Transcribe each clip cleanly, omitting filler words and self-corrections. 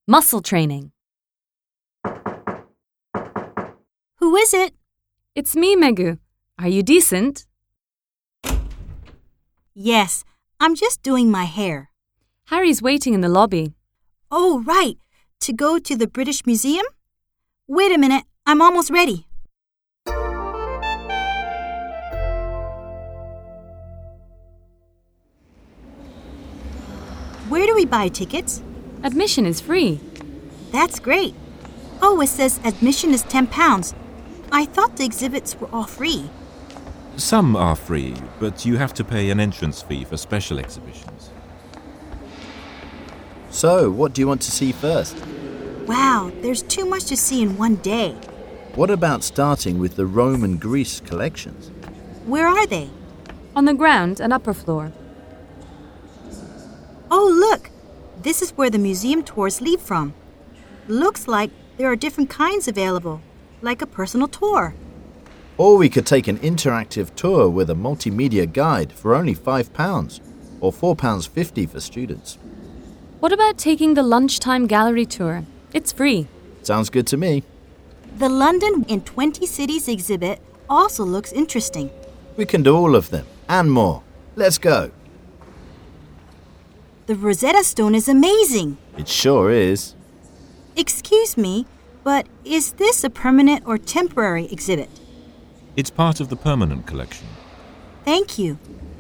Muscle training. Who is it? It's me, Megu. Are you decent? Yes, I'm just doing my hair. Harry's waiting in the lobby. Oh, right. To go to the British Museum? Wait a minute, I'm almost ready. Where do we buy tickets? Admission is free. That's great. Oh, it says admission is £10. I thought the exhibits were all free. Some are free, but you have to pay an entrance fee for special exhibitions. So, what do you want to see first? Wow, there's too much to see in one day. What about starting with the Rome and Greece collections? Where are they? On the ground and upper floor. Oh, look! This is where the museum tours leave from. Looks like there are different kinds available, like a personal tour. Or we could take an interactive tour with a multimedia guide for only £5, or £4.50 for students. What about taking the lunchtime gallery tour? It's free. Sounds good to me. The London in 20 Cities exhibit also looks interesting. We can do all of them, and more. Let's go. The Rosetta Stone is amazing. It sure is. Excuse me, but is this a permanent or temporary exhibit? It's part of the permanent collection. Thank you.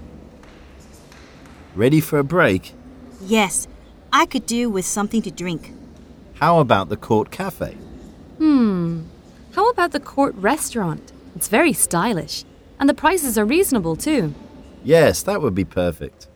Ready for a break? Yes, I could do with something to drink. How about the Court Cafe? How about the Court Restaurant? It's very stylish. And the prices are reasonable too. Yes, that would be perfect.